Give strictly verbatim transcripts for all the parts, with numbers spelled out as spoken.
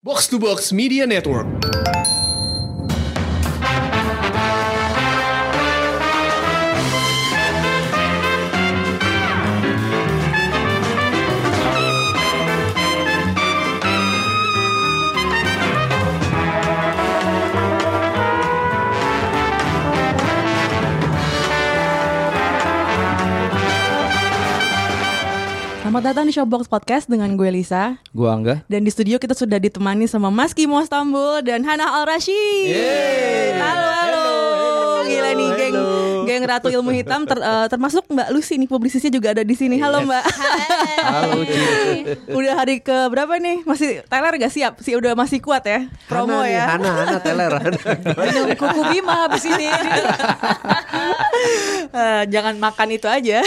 Box to Box Media Network. Selamat datang di Showbox Podcast dengan gue Lisa. Gue Angga. Dan di studio kita sudah ditemani sama Mas Kimo Stambul dan Hana Al-Rashid. Yeay. Halo, halo. Hello, hello, Gila nih geng, hello. geng Ratu Ilmu Hitam ter, uh, termasuk Mbak Lucy nih, publisisnya juga ada di sini. Halo Yes. Mbak. Halo, Ci. Udah hari ke berapa nih? Masih Tyler gak siap? Sih udah masih kuat ya? Promo Hana nih, ya. Hana, Hana Teler. Minum kuku Bima habis ini. Uh, jangan makan itu aja.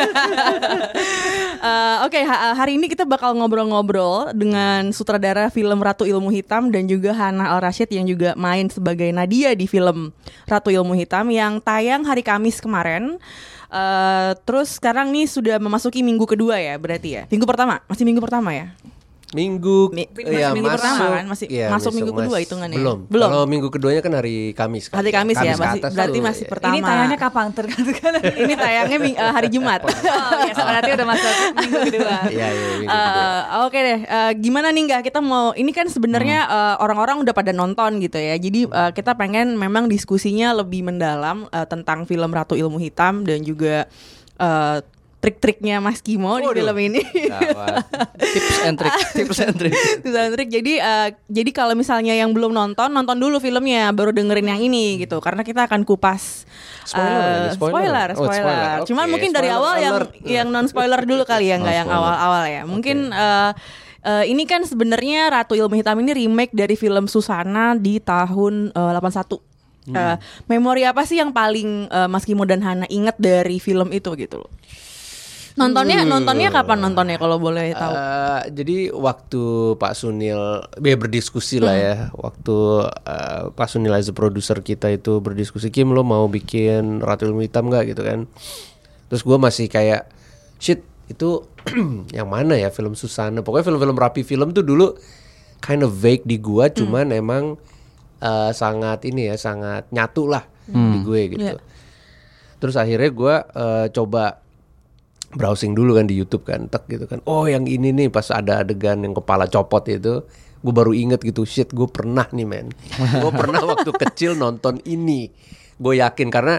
uh, Oke, okay, ha- hari ini kita bakal ngobrol-ngobrol dengan sutradara film Ratu Ilmu Hitam dan juga Hana Al-Rashid yang juga main sebagai Nadia di film Ratu Ilmu Hitam yang tayang hari Kamis kemarin. Uh, terus sekarang nih sudah memasuki minggu kedua ya berarti ya? Minggu pertama? Masih minggu pertama ya? Minggu, Mi- ya, minggu masuk, pertama kan? Masih ya, masuk besok minggu kedua mas- hitungannya? Belum. Belum. Kalau minggu keduanya kan hari Kamis kan. Hari Kamis, ya, ke masih, atas berarti tuh, masih ya. pertama. Ini tayangnya kapan tergantung. Ini tayangnya ming- uh, hari Jumat. Oh ya, berarti udah masuk minggu kedua. Iya, iya, minggu kedua. Uh, Oke deh, uh, gimana nih nggak kita mau ini kan sebenarnya uh, orang-orang udah pada nonton gitu ya. Jadi uh, kita pengen memang diskusinya lebih mendalam uh, tentang film Ratu Ilmu Hitam dan juga uh, trik-triknya Mas Kimo di Waduh. film ini. Gawat. Tips and trick, tips and trick. Tips and trik. Jadi uh, jadi kalau misalnya yang belum nonton, nonton dulu filmnya, baru dengerin yang ini gitu. Karena kita akan kupas Spoiler uh, lagi, spoiler. spoiler, Oh, spoiler. spoiler. Cuman Oke, mungkin dari spoiler awal yang alert. yang non spoiler dulu kali ya, nggak Oh, yang spoiler. awal-awal ya. Mungkin uh, uh, ini kan sebenarnya Ratu Ilmu Hitam ini remake dari film Susana di tahun uh, delapan puluh satu. Hmm. Uh, memori apa sih yang paling uh, Mas Kimo dan Hana ingat dari film itu gitu loh? Nontonnya Hmm. nontonnya kapan nontonnya kalau boleh tahu? Eh, jadi waktu Pak Sunil ya berdiskusi lah ya, waktu eh, Pak Sunil as a produser kita itu berdiskusi, Kim lo mau bikin Ratu Ilmu Hitam nggak gitu kan? Terus gue masih kayak shit itu yang mana ya film Susana? Pokoknya film-film rapi film tuh dulu kind of vague di gue, cuman emang eh, sangat ini ya sangat nyatu lah di gue gitu. Yeah. Terus akhirnya gue eh, coba browsing dulu kan di YouTube kan, tek gitu kan. Oh yang ini nih pas ada adegan yang kepala copot itu, gue baru inget gitu, shit gue pernah nih men. Gue pernah waktu kecil nonton ini. Gue yakin karena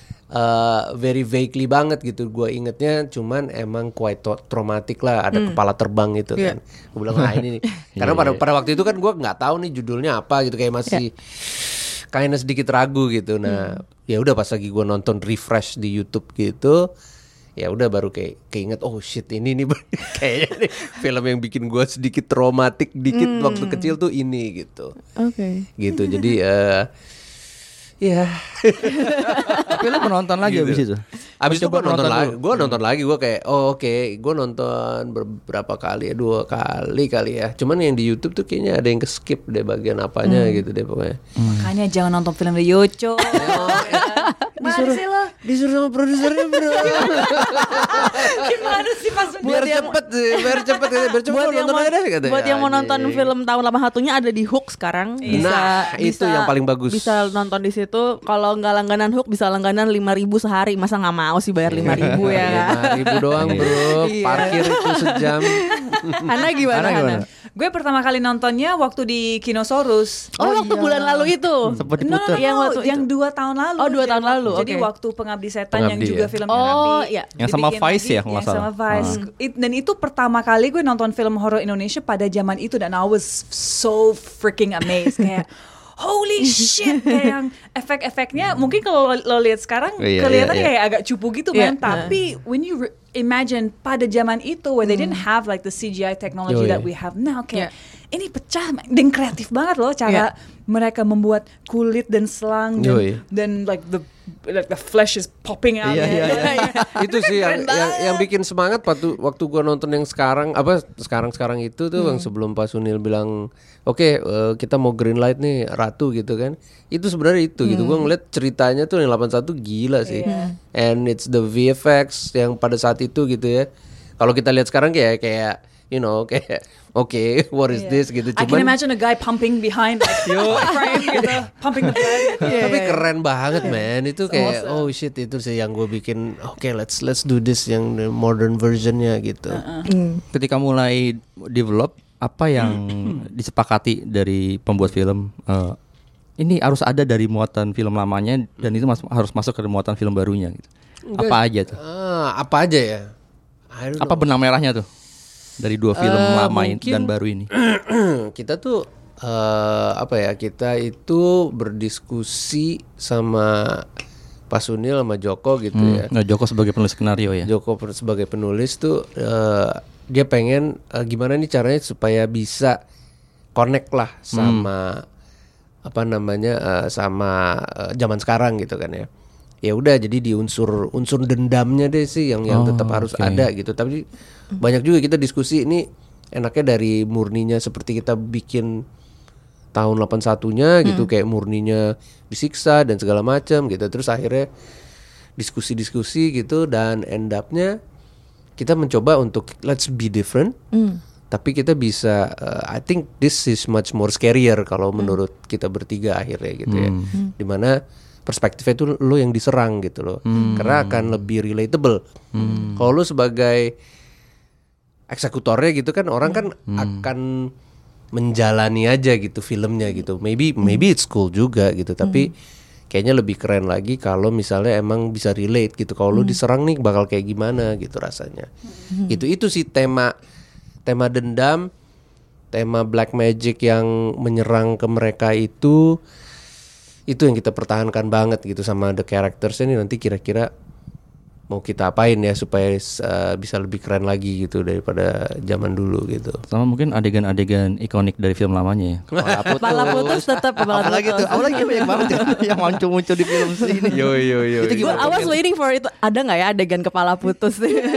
uh, very vaguely banget gitu. Gue ingetnya cuman emang quite tra- traumatic lah, ada kepala terbang gitu Iya. kan. Gue bilang ah ini nih. Karena pada pada waktu itu kan gue nggak tahu nih judulnya apa gitu, kayak masih kayaknya sedikit ragu gitu. Nah ya udah pas lagi gue nonton refresh di YouTube gitu, ya udah baru kayak keinget oh shit ini nih kayaknya nih film yang bikin gue sedikit traumatik dikit Hmm. waktu kecil tuh ini gitu. Oke. Gitu jadi eh ya Tapi lo menonton lagi Gitu. abis itu? abis itu gue Coba nonton nonton lagi, dulu. gue nonton lagi gue kayak oh oke gue nonton beberapa kali ya dua kali kali ya. Cuman yang di YouTube tuh kayaknya ada yang ke skip deh bagian apanya gitu deh pokoknya. Makanya jangan nonton film dari Yocho. Disuruh disuruh sama produsernya bro. Gimana sih pas biar cepet sih, biar cepet ya, biar cepet buat lo yang nonton mau, aja deh katanya. buat yang mau nonton Anjing. film tahun delapan puluh satunya ada di Hook sekarang. Bisa, Nah, itu bisa- yang paling bagus. Bisa nonton di situ. Kalau nggak langganan Hook bisa langganan lima ribu sehari. Masa nggak mau sih bayar lima ribu ya? lima ribu doang bro, Iya. parkir itu sejam. Hana gimana? Hana gimana? Hana? Gue pertama kali nontonnya waktu di Kinosaurus. Oh, waktu bulan lalu itu. Sempet No, no, diputer. no, Yang waktu yang itu. dua tahun lalu. Oh, dua tahun lalu, Jadi oke. waktu Pengabdi Setan yang Pengabdi, juga ya. film Oh, Pengabdi. iya. Yang sama dibikin Vice lagi, ya, kalau nggak yang sama salah. Vice. It- dan itu pertama kali gue nonton film horor Indonesia pada zaman itu dan I was so freaking amazed kayak holy shit, kayak yang efek-efeknya mungkin kalau lo, lo lihat sekarang Iya, kelihatan iya, iya. kayak agak cupu gitu Iya. man, tapi when you re- imagine pada zaman itu where they didn't have like the C G I technology Oh, iya. that we have now kayak Iya. ini pecah dan kreatif banget loh cara mereka membuat kulit dan selang dan, Yoi. dan like the like the flesh is popping out. Iya, iya, iya. Itu sih yang, yang yang bikin semangat waktu waktu gua nonton yang sekarang apa sekarang-sekarang itu tuh yang sebelum Pak Sunil bilang oke eh, kita mau green light nih Ratu gitu kan. Itu sebenarnya itu gitu. Gua ngeliat ceritanya tuh yang delapan puluh satu gila sih. And it's the V F X yang pada saat itu gitu ya. Kalau kita lihat sekarang kayak kayak you know kayak oke okay, what is Iya. this gitu. I can Cuman imagine a guy pumping behind like frame gitu, pumping the blood. Gitu. tapi keren banget man itu kayak awesome. oh shit itu sih yang gue bikin oke okay, let's let's do this yang the modern versionnya gitu. Ketika mulai develop, apa yang disepakati dari pembuat film? eh, ini harus ada dari muatan film lamanya dan itu mas- harus masuk ke muatan film barunya gitu. Apa aja tuh? Ah, apa aja ya? I don't Apa benang merahnya tuh dari dua film Eh, lama ini mungkin- dan baru ini? kita tuh eh, apa ya kita itu berdiskusi sama Pak Sunil sama Joko gitu ya. Nggak, Joko sebagai penulis skenario ya. Joko per- sebagai penulis tuh eh, dia pengen eh, gimana nih caranya supaya bisa connect lah sama apa namanya eh, sama eh, zaman sekarang gitu kan ya. Ya udah jadi di unsur unsur dendamnya deh sih yang yang Oh, tetap harus oke. ada gitu. Tapi banyak juga kita diskusi ini enaknya dari murninya seperti kita bikin tahun delapan puluh satunya gitu kayak murninya disiksa dan segala macam gitu. Terus akhirnya diskusi-diskusi gitu dan end up-nya kita mencoba untuk let's be different. Tapi kita bisa uh, I think this is much more scarier kalau menurut kita bertiga akhirnya gitu ya. Dimana perspektifnya itu lo yang diserang gitu loh. Karena akan lebih relatable. Kalau lo sebagai eksekutornya gitu kan orang kan akan menjalani aja gitu filmnya gitu. Maybe maybe it's cool juga gitu, tapi kayaknya lebih keren lagi kalau misalnya emang bisa relate gitu. Kalau lu diserang nih bakal kayak gimana gitu rasanya. Gitu itu sih tema tema dendam, tema black magic yang menyerang ke mereka itu itu yang kita pertahankan banget gitu sama the characters ini. Nanti kira-kira mau kita apain ya supaya uh, bisa lebih keren lagi gitu daripada zaman dulu gitu. Sama mungkin adegan-adegan ikonik dari film lamanya ya. Kepala putus. Kepala putus tetap kepala Apalagi putus. tuh, apalagi banyak banget ya yang muncul-muncul di film ini. Yo yo yo. Itu Gue gimana? I was waiting for itu. Ada nggak ya adegan kepala putus?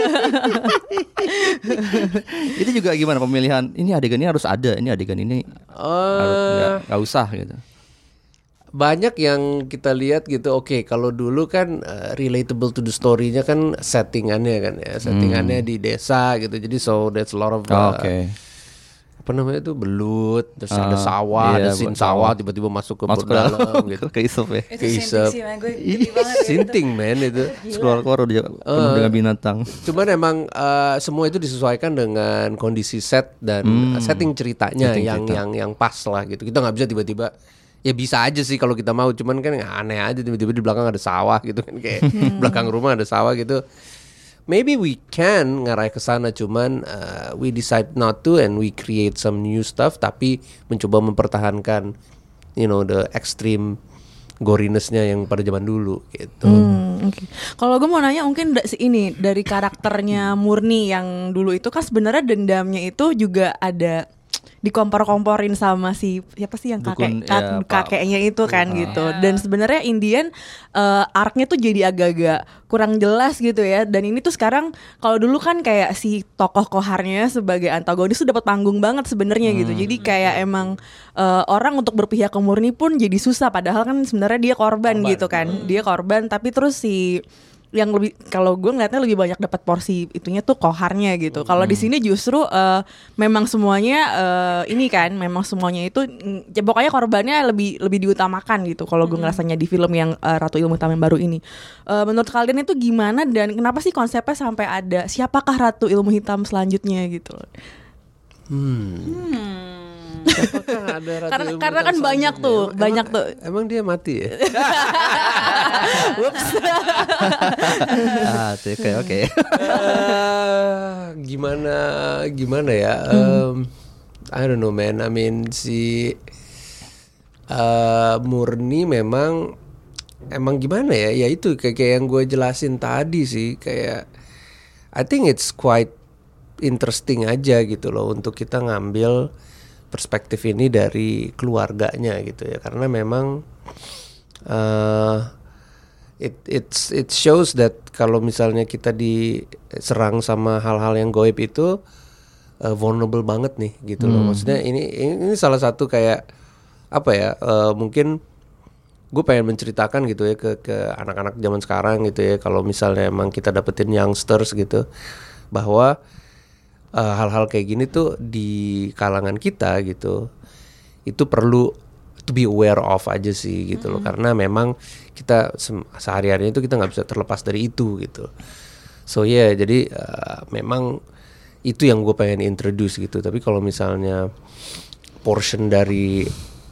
Itu juga gimana pemilihan? Ini adegan ini harus ada, ini adegan ini harus nggak nggak usah gitu. Banyak yang kita lihat gitu. Oke, kalau dulu kan uh, relatable to the story-nya kan settingannya kan ya, settingannya di desa gitu. Jadi so that's a lot of uh, Oh, Oke. apa namanya itu belut, terus Ah, ada sawah, iya, ada scene buat sawah sawah. tiba-tiba masuk ke Masuk ke dalam dalam gitu. ke isep ya. Itu Keisep. sinting sih man, gue geli banget. Sinting man itu. Keluar-keluar udah penuh dengan binatang. Cuman emang uh, semua itu disesuaikan dengan kondisi set dan uh, setting ceritanya Setting yang cerita. yang yang pas lah gitu. Kita nggak bisa tiba-tiba ya bisa aja sih kalau kita mau, cuman kan aneh aja tiba-tiba di belakang ada sawah gitu kan kayak belakang rumah ada sawah gitu. Maybe we can ngarai ke sana, cuman uh, we decide not to and we create some new stuff tapi mencoba mempertahankan you know the extreme goriness-nya yang pada zaman dulu gitu. Hmm, oke. Kalau gue mau nanya mungkin da- si ini dari karakternya Murni yang dulu itu kan sebenarnya dendamnya itu juga ada dikompor-komporin sama si siapa sih yang kakek Dukun, kak- ya, Pak. kakeknya itu kan gitu. Dan sebenarnya Indian uh, arc-nya tuh jadi agak-agak kurang jelas gitu ya. Dan ini tuh sekarang kalau dulu kan kayak si tokoh koharnya sebagai antagonis tuh dapat panggung banget sebenarnya gitu. Jadi kayak emang uh, orang untuk berpihak ke Murni pun jadi susah padahal kan sebenarnya dia korban, gitu kan. Dia korban tapi terus si yang lebih kalau gue ngeliatnya lebih banyak dapat porsi itunya tuh koharnya gitu. Kalau di sini justru uh, memang semuanya uh, ini kan memang semuanya itu mm, ya pokoknya korbannya lebih lebih diutamakan gitu. Kalau gue ngerasanya di film yang uh, Ratu Ilmu Hitam yang baru ini. Uh, menurut kalian itu gimana dan kenapa sih konsepnya sampai ada siapakah Ratu Ilmu Hitam selanjutnya gitu? Apakah ada Ratu Karena Ilmu karena Hitam kan banyak selanjutnya? tuh, Emang- banyak tuh. Emang dia mati ya? Ah, oke oke. Eh, gimana gimana ya? Um, I don't know man. I mean si uh, Murni memang emang gimana ya? Ya itu kayak, kayak yang gue jelasin tadi sih kayak I think it's quite interesting aja gitu loh untuk kita ngambil perspektif ini dari keluarganya gitu ya karena memang uh, it it's it shows that kalau misalnya kita diserang sama hal-hal yang goib itu uh, vulnerable banget nih gitu loh. Maksudnya ini, ini ini salah satu kayak apa ya uh, mungkin gue pengen menceritakan gitu ya ke ke anak-anak zaman sekarang gitu ya kalau misalnya emang kita dapetin youngsters gitu bahwa uh, hal-hal kayak gini tuh di kalangan kita gitu, itu perlu to be aware of aja sih gitu loh, karena memang kita se- sehari-harinya itu kita nggak bisa terlepas dari itu gitu. So ya yeah, jadi uh, memang itu yang gue pengen introduce gitu. Tapi kalau misalnya portion dari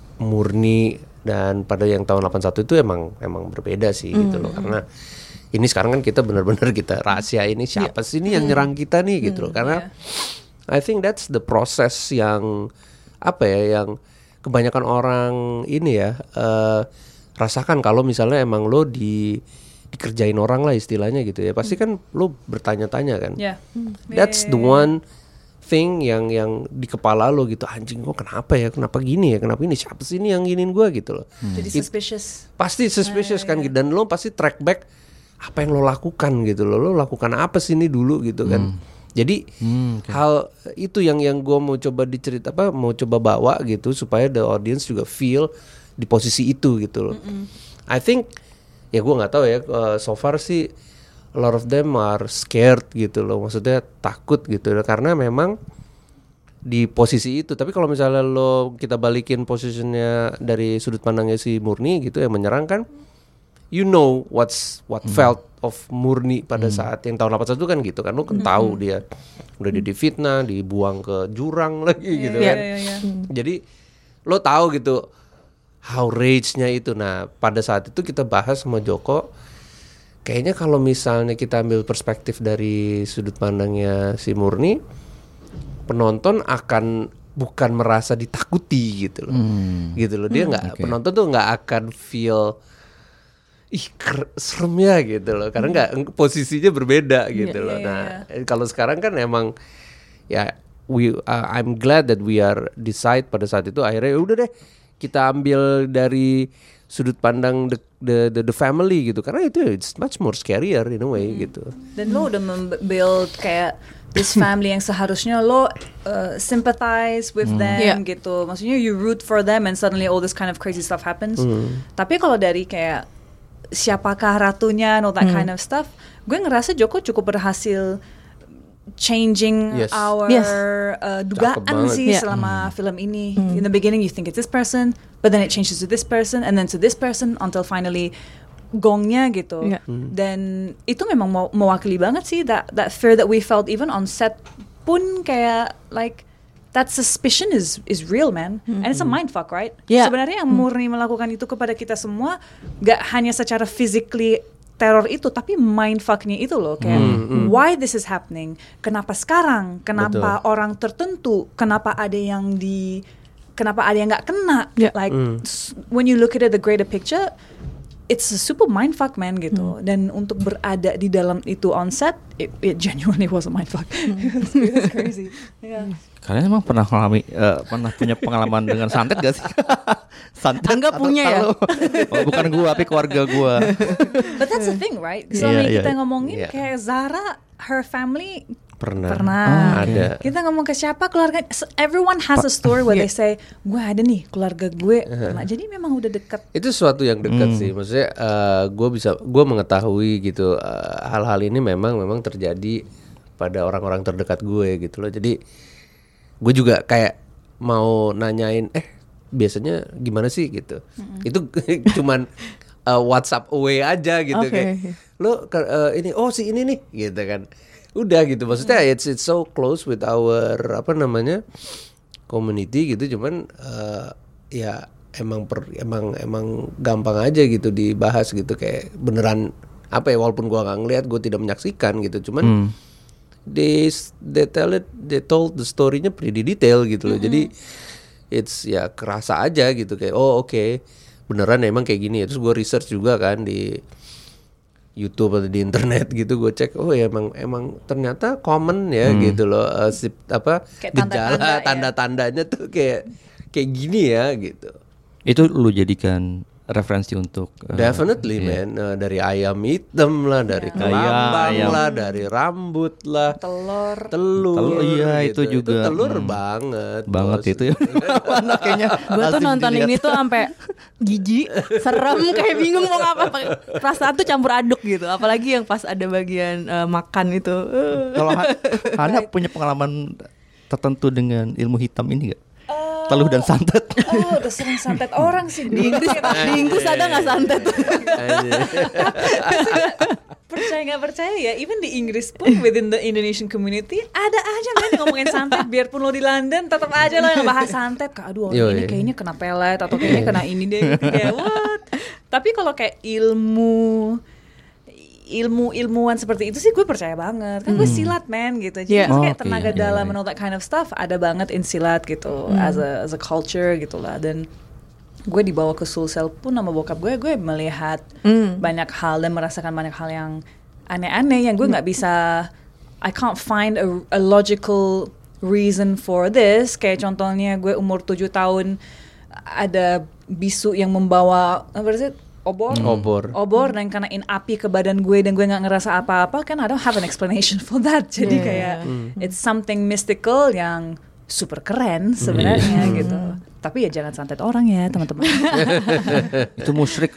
Murni dan pada yang tahun delapan puluh satu itu emang emang berbeda sih gitu loh, karena ini sekarang kan kita benar-benar kita rahasia ini siapa sih ini yang nyerang kita nih gitu loh, karena I think that's the process yang apa ya yang kebanyakan orang ini ya uh, rasakan kalau misalnya emang lo di dikerjain orang lah istilahnya gitu ya, pasti kan lo bertanya-tanya kan. Yeah. That's the one thing yang yang di kepala lo gitu, anjing kok kenapa ya, kenapa gini ya, kenapa ini siapa sih ini yang giniin gue gitu loh. Jadi It- suspicious. pasti suspicious kan, dan lo pasti track back apa yang lo lakukan gitu loh, lo lakukan apa sih ini dulu gitu kan. Jadi hal itu yang yang gue mau coba dicerita apa mau coba bawa gitu supaya the audience juga feel di posisi itu gitu loh. I think ya gue nggak tahu ya, uh, so far sih a lot of them are scared gitu loh, maksudnya takut gitu loh, karena memang di posisi itu. Tapi kalau misalnya lo kita balikin posisinya dari sudut pandangnya si Murni gitu yang menyerang kan, you know what's what felt of Murni pada saat yang tahun delapan puluh satu kan gitu kan, lo kan tahu dia udah di difitnah, dibuang ke jurang lagi gitu Iya, kan. iya, iya. Jadi lo tahu gitu how rage-nya itu. Nah pada saat itu kita bahas sama Joko, kayaknya kalau misalnya kita ambil perspektif dari sudut pandangnya si Murni, penonton akan bukan merasa ditakuti gitu loh, gitu loh. Dia nggak, Oke. penonton tuh nggak akan feel ih ker- serem ya gitu loh, karena nggak posisinya berbeda gitu Iya, loh. iya, Nah iya. kalau sekarang kan emang ya we uh, I'm glad that we are decide pada saat itu akhirnya ya udah deh kita ambil dari sudut pandang the the the, the family gitu, karena itu it's much more scarier in a way gitu. Dan lo udah membuild kayak this family yang seharusnya lo uh, sympathize with them Yeah. gitu. Maksudnya you root for them and suddenly all this kind of crazy stuff happens. Tapi kalau dari kayak siapakah ratunya and all that kind of stuff, gue ngerasa Joko cukup berhasil changing Yes. our Yes. uh, Cakep dugaan banget. sih Yeah. selama film ini. In the beginning you think it's this person, but then it changes to this person and then to this person until finally gongnya gitu. Yeah. Dan itu memang mew- mewakili banget sih that that fear that we felt even on set pun kayak like that suspicion is is real, man. And it's a mindfuck, right? Yeah. Sebenarnya yang murni melakukan itu kepada kita semua gak hanya secara physically teror itu, tapi mindfucknya itu loh kayak why this is happening, kenapa sekarang, kenapa orang tertentu, kenapa ada yang di, kenapa ada yang nggak kena, Yeah. like s- when you look at it, the greater picture, it's a super mindfuck, man gitu. Dan untuk berada di dalam itu on set, it, it genuinely was a mindfuck. It was, it was crazy. Yeah. Kalian emang pernah mengalami eh, pernah punya pengalaman dengan santet gak sih? Santet Angga atau punya ya? tahu? Oh, bukan gua tapi keluarga gua. But that's the thing, right? Selama Iya, kita iya. ngomongin Iya. kayak Zara, her family Pernah. pernah. Oh, Ada. Kita ngomong ke siapa keluarga, s- everyone has a story where they say, gue ada nih keluarga gue pernah. Jadi memang udah dekat. Itu sesuatu yang dekat sih, maksudnya gue bisa gue mengetahui gitu eh, hal-hal ini memang memang terjadi pada orang-orang terdekat gue gitu loh. Jadi gue juga kayak mau nanyain eh biasanya gimana sih gitu. Itu cuman eh, WhatsApp away aja gitu Oke. kayak lo ke- eh, ini oh si ini nih gitu kan. Udah gitu, maksudnya it's it's so close with our apa namanya community gitu, cuman eh, ya emang per, emang emang gampang aja gitu dibahas gitu kayak beneran apa ya, walaupun gua nggak ngeliat, gua tidak menyaksikan gitu, cuman they they tell it they told the story-nya pretty detail gitu loh. Jadi it's ya kerasa aja gitu kayak oh oke beneran emang kayak gini ya. Terus gua research juga kan di YouTube atau di internet gitu, gue cek oh ya emang emang ternyata common ya gitu loh, uh, sip, apa Kayak gejala tanda-tanda ya. tanda-tandanya tuh kayak kayak gini ya gitu. Itu lu jadikan referensi untuk uh, Definitely iya. man, uh, dari ayam hitam lah, dari kelambang Ayam. lah, dari rambut lah, telur. telur, Telur, iya, gitu. itu juga. telur Hmm. banget, banget bos. itu ya. Mana kayaknya Gue tuh lazim nonton dilihat. ini tuh sampai jijik, serem, kayak bingung mau ngapa. Perasaan tuh campur aduk gitu. Apalagi yang pas ada bagian eh, makan itu. Eh. Kalau Ha- Hana punya pengalaman tertentu dengan ilmu hitam ini gak? Teluh dan santet. Oh, udah sering santet orang sih. Di Inggris, di Inggris ada nggak santet? Percaya nggak percaya ya, even di Inggris pun within the Indonesian community ada aja men yang ngomongin santet. Biarpun lo di London tetap aja lo yang bahas santet. Kak, aduh orang Yo, ini iya. kayaknya kena pelet atau kayaknya kena ini deh. Kayak what? Tapi kalau kayak ilmu ilmu ilmuwan seperti itu sih gue percaya banget. Kan gue silat men gitu. Jadi Yeah. maksudnya Oh, kayak oke, tenaga iya, dalam iya. and all that kind of stuff ada banget in silat gitu as a as a culture gitu lah. Dan gue dibawa ke Sulsel pun sama bokap gue, gue melihat Mm. banyak hal dan merasakan banyak hal yang aneh-aneh yang gue nggak bisa, I can't find a, a logical reason for this. Kayak contohnya gue umur tujuh tahun ada bisu yang membawa apa sih obor, Obor. obor dan kenain api ke badan gue dan gue nggak ngerasa apa-apa, kan I don't have an explanation for that. Jadi Yeah. kayak it's something mystical yang super keren sebenarnya gitu. Tapi ya jangan santet orang ya teman-teman. Itu musyrik.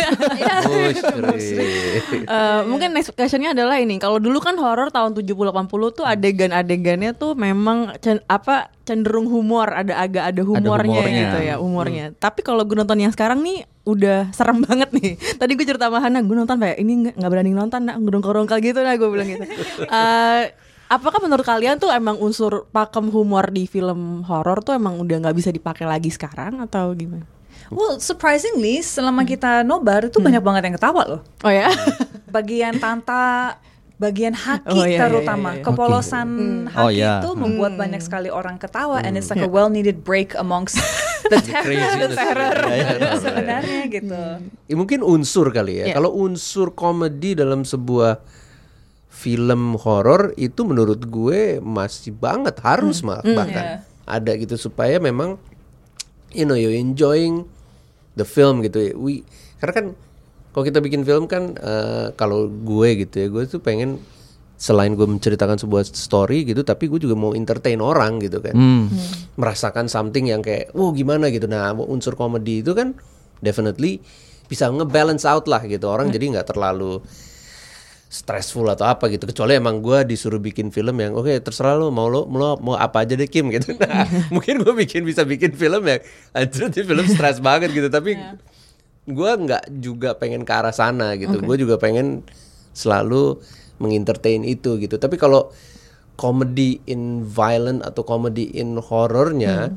Musyrik. Eh, mungkin next questionnya adalah ini. Kalau dulu kan horor tahun tujuh puluh delapan puluh tuh adegan-adegannya tuh memang cen- apa cenderung humor, ada agak ada humornya, humornya. gitu ya, humornya. Tapi kalau gue nonton yang sekarang nih udah serem banget nih. Tadi gue cerita sama Hana, gue nonton kayak ini nggak nggak berani nonton, nak ngedongkol-dongkol gitu, nah gue bilang gitu. Eh, apakah menurut kalian tuh emang unsur pakem humor di film horor tuh emang udah nggak bisa dipakai lagi sekarang atau gimana? Well, surprisingly selama kita nobar itu banyak banget yang ketawa loh. Oh ya? Bagian tanta, bagian haki Oh, iya, terutama, iya, iya. kepolosan haki Oh, iya. itu membuat banyak sekali orang ketawa, and it's like a well needed break amongst the terror, craziness. terror Iya, iya. sebenarnya gitu. Ya, mungkin unsur kali ya. Yeah. Kalau unsur komedi dalam sebuah film horor itu menurut gue masih banget harus mah bahkan ada gitu supaya memang you know you enjoying the film gitu ya. We, karena kan kalau kita bikin film kan eh, kalau gue gitu ya, gue tuh pengen selain gue menceritakan sebuah story gitu, tapi gue juga mau entertain orang gitu kan, merasakan something yang kayak wow gimana gitu. Nah unsur komedi itu kan definitely bisa ngebalance out lah gitu orang, jadi nggak terlalu stressful atau apa gitu, kecuali emang gue disuruh bikin film yang oke okay, terserah lo mau lo mau, mau apa aja deh Kim gitu. Nah, mungkin gue bikin bisa bikin film yang anjir di film stres banget gitu, tapi gue nggak juga pengen ke arah sana gitu. Okay. Gue juga pengen selalu mengentertain itu gitu. Tapi kalau comedy in violent atau comedy in horornya,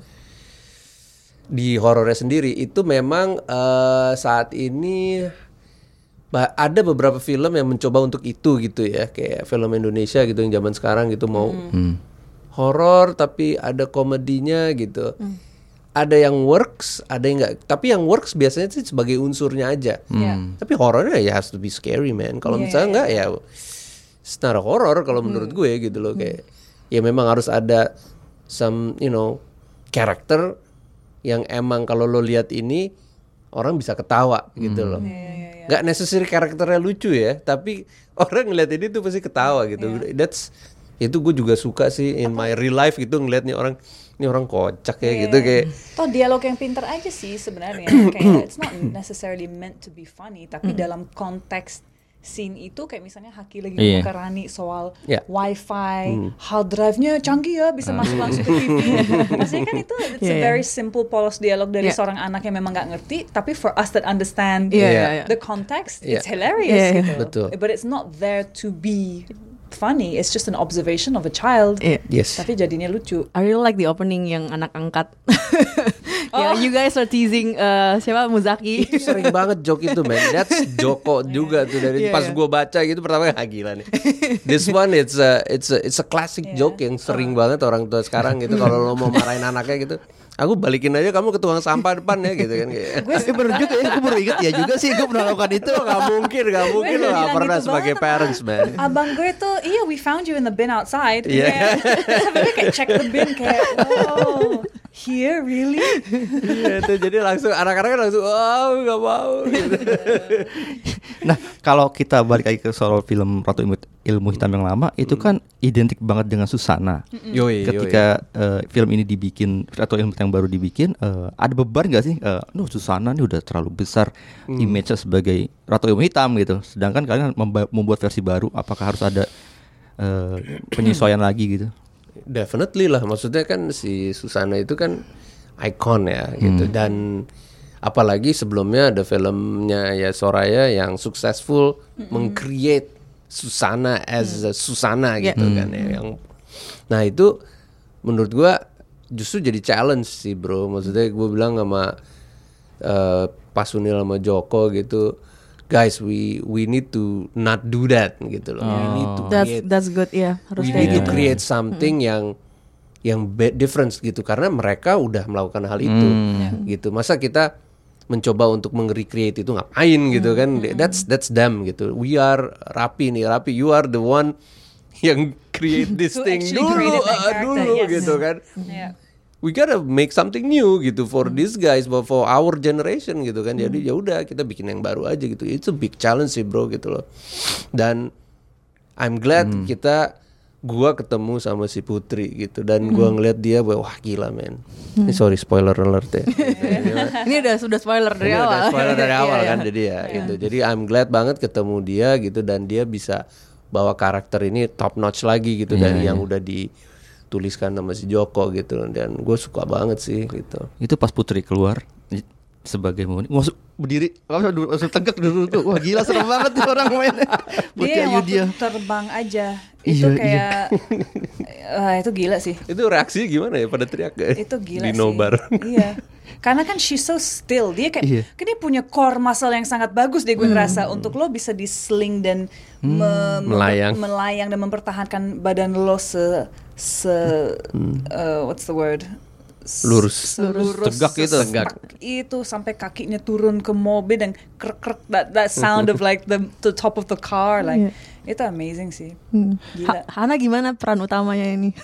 di horornya sendiri itu memang eh, saat ini Bah, ada beberapa film yang mencoba untuk itu gitu ya, kayak film Indonesia gitu yang zaman sekarang gitu mau horor tapi ada komedinya gitu. Ada yang works, ada yang enggak. Tapi yang works biasanya sih sebagai unsurnya aja. Yeah. Tapi horornya ya has to be scary man. Kalau Yeah, misalnya yeah, enggak ya it's not a horror kalau menurut gue gitu loh, kayak ya memang harus ada some you know karakter yang emang kalau lo lihat ini orang bisa ketawa gitu loh. Gak necessary karakternya lucu ya, tapi orang ngeliat ini tuh pasti ketawa gitu. That's itu gue juga suka sih in my real life gitu, ngeliat nih orang ini orang kocak ya gitu kayak. Toh dialog yang pintar aja sih sebenarnya. Kayak it's not necessarily meant to be funny, tapi dalam konteks scene itu kayak misalnya Haki lagi Iya. ngomong ke Rani soal Yeah. wifi, hard drive-nya canggih ya, bisa masuk langsung ke T V. Maksudnya kan itu it's a Yeah, yeah. very simple polos dialog dari Yeah. seorang anak yang memang nggak ngerti, tapi for us that understand Iya, Yeah. iya, iya. the context, Yeah. it's hilarious Yeah, yeah. gitu. Betul. But it's not there to be funny, it's just an observation of a child. Iya. Yes. Tapi jadinya lucu. I really like the opening yang anak angkat. Ya, you guys are teasing uh, siapa Muzaki. Itu sering banget joke itu man. That's Joko juga tuh dari Yeah, pas yeah. gue baca gitu pertama ah gila nih. This one it's a it's a it's a classic Yeah. joke yang sering banget orang tua sekarang gitu kalau lo mau marahin anaknya gitu. Aku balikin aja kamu ke tukang sampah depan ya gitu kan kayak. Gue baru juga ya, gue baru inget ya juga sih gue pernah lakukan itu. Gak mungkin, gak mungkin lo Gue gak bilang pernah gitu sebagai banget parents sama man. abang gue tuh, iya we found you in the bin outside. Iya. Kayak, sampai gue kayak check the bin kayak, wow. here really? Iya itu jadi langsung anak-anak langsung oh nggak mau. Gitu. Nah, kalau kita balik lagi ke soal film Ratu Ilmu, Ilmu Hitam yang lama, itu kan identik banget dengan Susana. Yoi, Ketika uh, film ini dibikin, Ratu Ilmu Hitam yang baru dibikin, uh, ada beban nggak sih? Uh, no, Susana ini udah terlalu besar Hmm. image-nya sebagai Ratu Ilmu Hitam gitu. Sedangkan kalian memba- membuat versi baru, apakah harus ada uh, penyesuaian lagi gitu? Definitely lah, maksudnya kan si Susana itu kan ikon ya gitu dan apalagi sebelumnya ada filmnya ya Soraya yang successful meng-create Susana as a Susana gitu kan ya yang nah itu menurut gua justru jadi challenge sih bro, maksudnya gue bilang sama uh, Pak Sunil sama Joko gitu, guys we we need to not do that gitu loh. We need to That's create that's good ya. Harus we kayak need to gitu. create something yang yang be- difference gitu karena mereka udah melakukan hal itu gitu. Masa kita mencoba untuk meng-recreate itu ngapain gitu kan? That's that's them gitu. We are Rapi nih, Rapi you are the one yang create this Who thing actually dulu created that ah, character, dulu yes. gitu kan. Yeah. We gotta make something new gitu for these guys, but for our generation gitu kan. Jadi ya udah kita bikin yang baru aja gitu. It's a big challenge sih bro gitu loh. Dan I'm glad kita gua ketemu sama si Putri gitu dan gua ngeliat dia wah gila men. Ini sorry spoiler alert ya. Ini udah sudah spoiler dari Ini awal. udah spoiler dari awal Iya, kan iya. jadi ya gitu. Jadi I'm glad banget ketemu dia gitu dan dia bisa bawa karakter ini top notch lagi gitu dari yang udah dituliskan sama si Joko gitu dan gue suka banget sih gitu. Itu pas Putri keluar i- sebagai Moni, masuk berdiri, langsung langsung tegak dulu tuh. Wah gila serem banget nih orang mainnya. Putri Dia yang waktu Ayudhya. terbang aja Iya, itu iya. kayak ah, itu gila sih. Itu reaksi gimana ya pada teriak ya? Itu gila di sih. nobar. Iya. Karena kan she's so still. Dia kayak Iya. kan dia punya core muscle yang sangat bagus deh gue ngerasa untuk lo bisa di sling dan me- Melayang. melayang dan mempertahankan badan lo se se uh, what's the word? S- Lurus. selurus, Tegak gitu. sesepak itu sampai kakinya turun ke mobil dan krek krek that that sound of like the the top of the car like itu amazing sih. Gila. Ha- Hana gimana peran utamanya ini?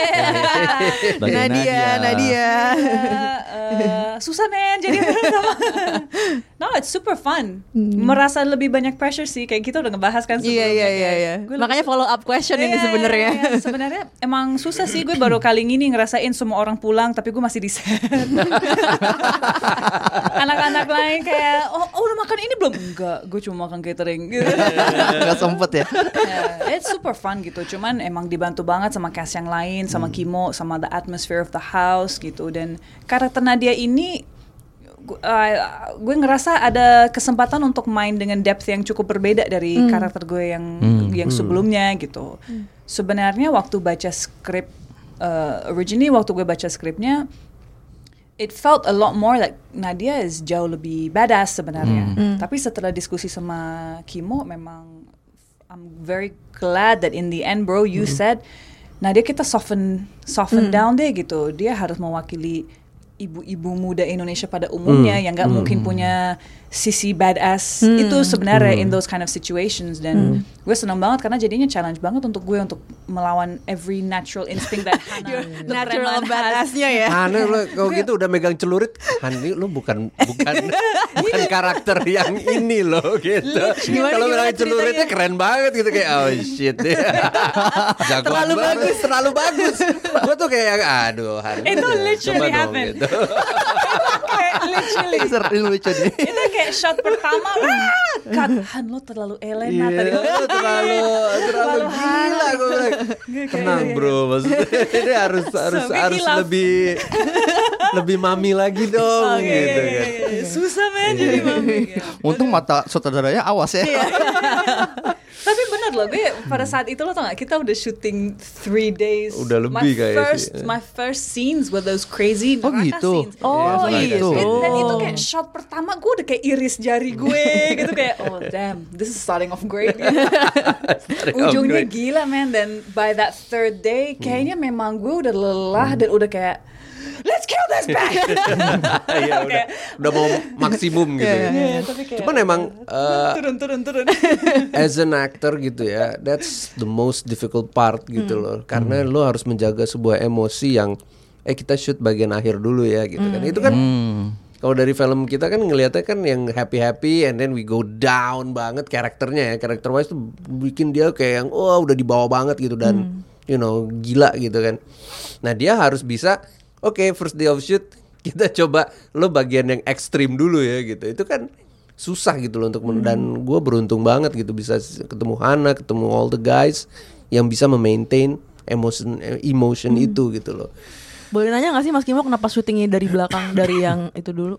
Sebagai Nadia, Nadia. uh, susah men jadi sama. No, it's super fun. Merasa lebih banyak pressure sih kayak kita udah ngebahas kan Iya sebelumnya. iya iya kayak, iya. gue Makanya follow up question Iya, ini iya, sebenarnya. iya, iya. Sebenarnya emang susah sih, gue baru kali ini ngerasain semua orang pulang tapi gue masih di set. Anak-anak lain kayak oh, oh udah makan ini belum? Enggak, gue cuma makan catering. Gitu. Nggak sempet ya. Yeah, it's super fun gitu. Cuman emang dibantu banget sama cast yang lain, sama Kimo, sama the atmosphere of the house gitu. Dan karakter Nadia ini gu- uh, gue ngerasa ada kesempatan untuk main dengan depth yang cukup berbeda dari karakter gue yang yang sebelumnya gitu. Sebenarnya waktu baca skrip uh, originally waktu gue baca skripnya it felt a lot more like Nadia is jauh lebih badass sebenarnya. Tapi setelah diskusi sama Kimo memang I'm very glad that in the end bro you said Nadia kita soften soften down deh gitu. Dia harus mewakili ibu-ibu muda Indonesia pada umumnya yang nggak mungkin punya sisi badass itu sebenarnya in those kind of situations dan gue senang banget karena jadinya challenge banget untuk gue untuk melawan every natural instinct that Hana the Natural preman has. badassnya ya. Hana lu kalau gitu udah megang celurit, Hani lu bukan bukan bukan karakter yang ini loh gitu. Gimana, Kalau gimana megang celuritnya keren banget gitu kayak oh shit. Jagoan Terlalu banget, bagus. terlalu bagus. Gua tuh kayak aduh Hani. Itu coba literally dong, happened. gitu. Kayak literally Seru lucu nih. itu kayak shot pertama ah, cut Han lo terlalu Elena Iya, tadi lu terlalu terlalu Terlalu gila gue bilang. Tenang bro, maksudnya ini harus harus Sampai harus kilaf. lebih lebih mami lagi dong Oke, gitu oke, kan. oke, oke. Susah men jadi mami. Untung mata sutradaranya awas ya. Tapi bener loh, gue pada saat itu lo tau gak, kita udah syuting three days. Udah lebih my kayaknya first, sih. My first scenes were those crazy Oh, neraka gitu. scenes. Oh, iya. gitu. Dan, dan itu kayak shot pertama gue udah kayak iris jari gue gitu kayak oh damn, this is starting off great. Ujungnya gila man, dan by that third day kayaknya memang gue udah lelah dan udah kayak let's kill this bag. Iya udah udah mau maksimum gitu ya. Iya, tapi kayak Cuman emang uh, turun turun turun. as an actor gitu ya, that's the most difficult part gitu loh. Karena lo harus menjaga sebuah emosi yang eh kita shoot bagian akhir dulu ya gitu kan. Itu kan Hmm. kalau dari film kita kan ngelihatnya kan yang happy-happy and then we go down banget karakternya ya. Karakter wise tuh bikin dia kayak yang oh udah dibawa banget gitu dan you know gila gitu kan. Nah dia harus bisa oke okay, first day of shoot kita coba lo bagian yang ekstrim dulu ya gitu. Itu kan susah gitu loh untuk men- dan gue beruntung banget gitu bisa ketemu Hana, ketemu all the guys yang bisa memaintain emotion emotion itu gitu loh. Boleh nanya gak sih Mas Kimo kenapa syutingnya dari belakang dari yang itu dulu?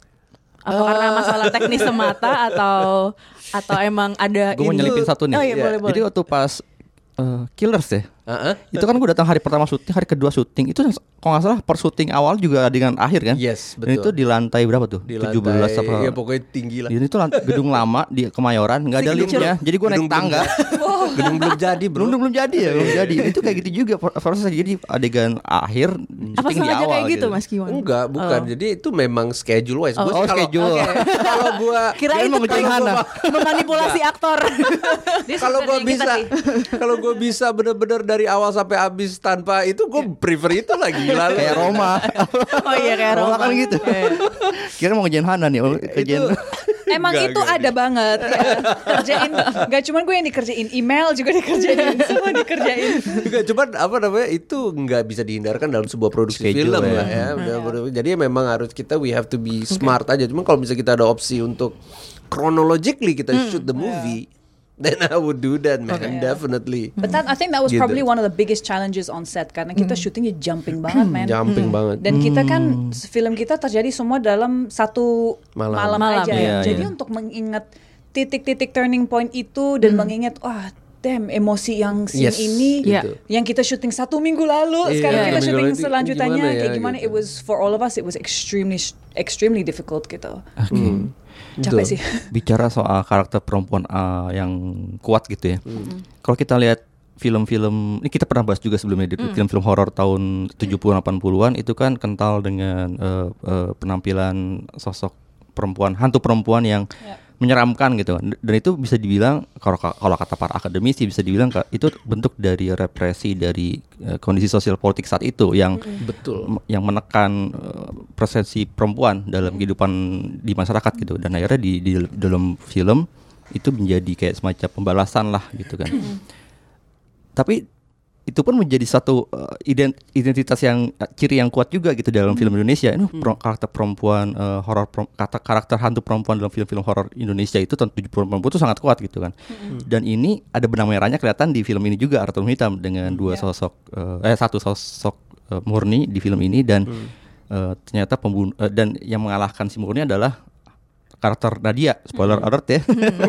Apa karena masalah teknis semata atau atau emang ada Gue mau ini? nyelipin satu nih. Oh iya, Iya. boleh boleh. Jadi waktu pas uh, Killers ya, Uh-huh. itu kan gue datang hari pertama syuting, hari kedua syuting itu kalau nggak salah per syuting awal juga dengan akhir kan? Yes, Dan itu betul. di lantai berapa tuh? Di tujuh belas lantai, apa? ya pokoknya tinggi lah. Jadi itu lant- gedung lama di Kemayoran, nggak ada Gedung liftnya. belum- Jadi gue naik gedung belum tangga. Gedung belum jadi bro. belum belum jadi ya, belum jadi. Itu kayak gitu juga prosesnya. Jadi adegan akhir Apa syuting di sengaja awal kayak gitu Mas Kiwan? Enggak, bukan. Oh. Jadi itu memang schedule wise. Oh, Gua oh, kalau- schedule. Oke. Kalau gua Kirain Kirain mau itu ngejain kalau Hana. gua memanipulasi aktor. Dia kalau gua sebenarnya kita bisa sih. kalau gua bisa bener-bener dari awal sampai habis tanpa itu gua prefer itu lagi gila lu. kayak Roma. Oh iya kayak Roma Roma kan gitu. Kira mau ngejain Hana nih, oh, kejain. Emang Enggak, itu enggak, ada banget ya. Kerjain gak cuma gue yang dikerjain, email juga dikerjain, semua dikerjain. Juga cuman apa namanya itu nggak bisa dihindarkan dalam sebuah produksi Schedule film ya. lah ya. Bener-bener. Jadi memang harus kita we have to be smart aja. Cuman kalau bisa kita ada opsi untuk chronologically kita shoot the movie, then I would do that man, definitely. But that, I think that was Gitu. probably one of the biggest challenges on set karena kita syutingnya jumping banget man. Jumping banget. Dan kita kan film kita terjadi semua dalam satu Malam. malam, Malam, aja ya. iya, Jadi iya. untuk mengingat titik-titik turning point itu dan mengingat wah damn emosi yang scene Yes, ini gitu. yang kita syuting satu minggu lalu Iya, sekarang kita minggu syuting lalu itu selanjutnya gimana ya, kayak gimana gitu. it was for all of us it was extremely extremely difficult gitu. Hmm. Capek Betul. sih. Bicara soal karakter perempuan uh, yang kuat gitu ya. Kalau kita lihat film-film ini kita pernah bahas juga sebelumnya di film-film horor tahun tujuh puluh delapan puluhan itu kan kental dengan uh, uh, penampilan sosok perempuan, hantu perempuan yang Ya. menyeramkan gitu. Dan itu bisa dibilang kalau kalau kata para akademisi bisa dibilang ka- itu bentuk dari represi dari uh, kondisi sosial politik saat itu yang Betul. m- yang menekan uh, persepsi perempuan dalam kehidupan di masyarakat gitu. Dan akhirnya di, di dalam film itu menjadi kayak semacam pembalasan lah gitu kan. Tapi itu pun menjadi satu uh, ident- identitas yang uh, ciri yang kuat juga gitu dalam film Indonesia. Ini pro- karakter perempuan uh, horor per- kata karakter hantu perempuan dalam film-film horor Indonesia itu tahun tujuh puluh itu sangat kuat gitu kan. Dan ini ada benang merahnya kelihatan di film ini juga Ratu Ilmu Hitam dengan dua sosok uh, eh satu sosok uh, murni di film ini dan uh, ternyata pembunuh uh, dan yang mengalahkan si murni adalah karakter Nadia, spoiler alert ya.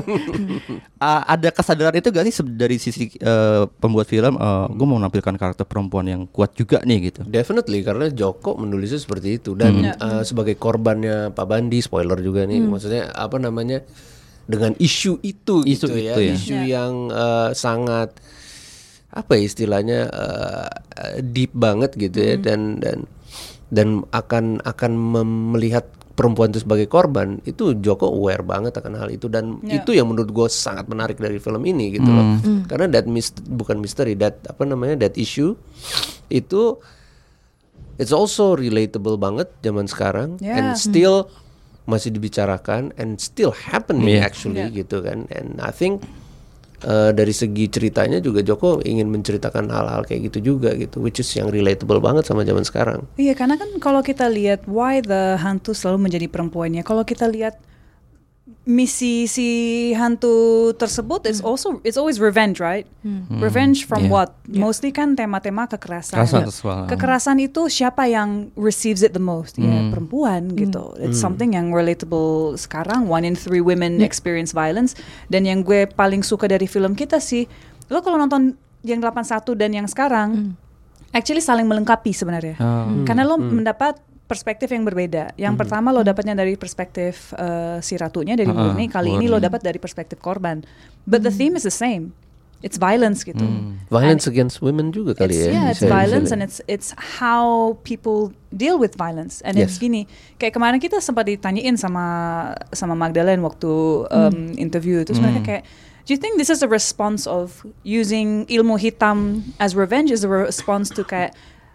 A- ada kesadaran itu gak sih se- dari sisi uh, pembuat film, uh, gue mau menampilkan karakter perempuan yang kuat juga nih gitu. Definitely karena Joko menulisnya seperti itu dan uh, sebagai korbannya Pak Bandi spoiler juga nih maksudnya apa namanya dengan isu itu Isu gitu ya, itu ya. isu yang uh, sangat apa ya istilahnya uh, uh, deep banget gitu ya dan dan dan akan akan mem- melihat perempuan itu sebagai korban itu Joko aware banget akan hal itu dan Ya. itu yang menurut gue sangat menarik dari film ini gitu loh karena that mist- bukan misteri that apa namanya that issue itu it's also relatable banget zaman sekarang Ya. and still masih dibicarakan and still happening Yeah. actually Yeah. gitu kan and I think uh, dari segi ceritanya juga Joko ingin menceritakan hal-hal kayak gitu juga gitu which is yang relatable banget sama zaman sekarang. Iya, karena kan kalau kita lihat why the hantu selalu menjadi perempuannya. Kalau kita lihat misi si hantu tersebut, it's also it's always revenge, right? Revenge from Yeah. what? Mostly kan tema-tema kekerasan. Kekerasan seksual. Kekerasan itu siapa yang receives it the most? Ya perempuan gitu. It's something yang relatable sekarang. One in three women experience violence. Dan yang gue paling suka dari film kita sih, lo kalau nonton yang delapan puluh satu dan yang sekarang, actually saling melengkapi sebenarnya. Hmm. Karena lo mendapat perspektif yang berbeda. Yang pertama lo dapatnya dari perspektif uh, si ratunya dari Uh-uh, Murni. Kali ini lo Murni. dapat dari perspektif korban. But the theme is the same. It's violence gitu. Violence against women juga kali It's, ya. yeah, it's bisa- violence bisa- and it's it's how people deal with violence. And it's Yes. gini, kayak kemarin kita sempat ditanyain sama sama Magdalene waktu um, interview itu sebenarnya kayak, do you think this is a response of using ilmu hitam as revenge? Is a response to kayak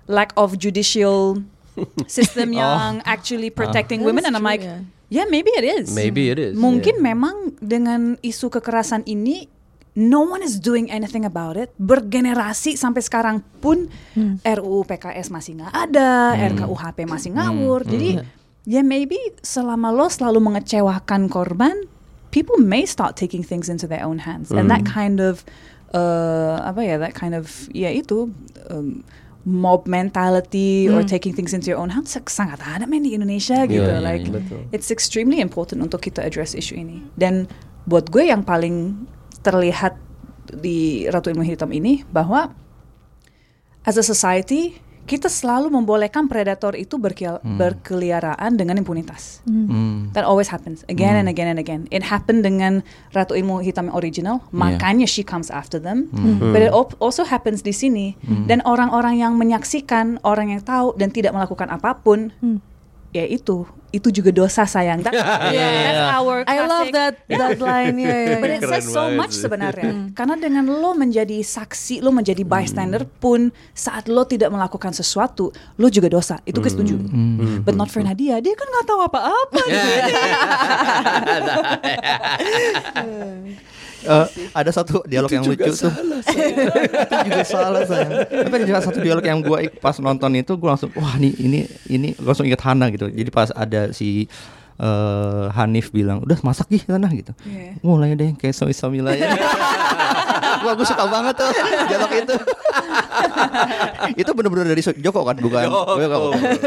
lack of judicial system yang actually protecting women, and I'm true, like, yeah. yeah, maybe it is. Maybe it is. Mungkin yeah. memang dengan isu kekerasan ini, no one is doing anything about it. Bergenerasi sampai sekarang pun hmm. R U U P K S masih nggak ada, hmm. R K U H P masih ngawur. Hmm. Jadi hmm. ya yeah, maybe selama lo selalu mengecewakan korban, people may start taking things into their own hands, hmm. and that kind of uh, apa ya, that kind of ya itu. Um, mob mentality hmm. or taking things into your own hands sangat ada men di Indonesia gitu. Yeah, like yeah, yeah. it's extremely important untuk kita address isu ini. Dan buat gue yang paling terlihat di Ratu Ilmu Hitam ini bahwa as a society kita selalu membolehkan predator itu berkel- hmm. berkeliaraan dengan impunitas. Hmm. That always happens again hmm. and again and again. It happened dengan Ratu Ilmu Hitam yang original, yeah. makanya she comes after them. Hmm. But it op- also happens di sini. Hmm. Dan orang-orang yang menyaksikan, orang yang tahu dan tidak melakukan apapun, hmm. ya itu itu juga dosa sayang. That, yeah, yeah. That's our classic. I love that that line. Yeah, yeah, But yeah. it says so banget much sih. sebenarnya. Karena dengan lo menjadi saksi, lo menjadi bystander pun saat lo tidak melakukan sesuatu, lo juga dosa. Itu gue setuju. But not for Nadia. Dia kan nggak tahu apa-apa. Uh, ada satu dialog itu yang lucu tuh. Itu juga salah saya. Tapi ada juga satu dialog yang gue pas nonton itu gue langsung wah ini ini ini langsung ingat Hana gitu. Jadi pas ada si uh, Hanif bilang udah masak gih sana gitu. Yeah. Mulai deh kayak Soisamila ya. Wah gue suka banget tuh dialog itu. Itu benar-benar dari Joko kan bukan? Joko.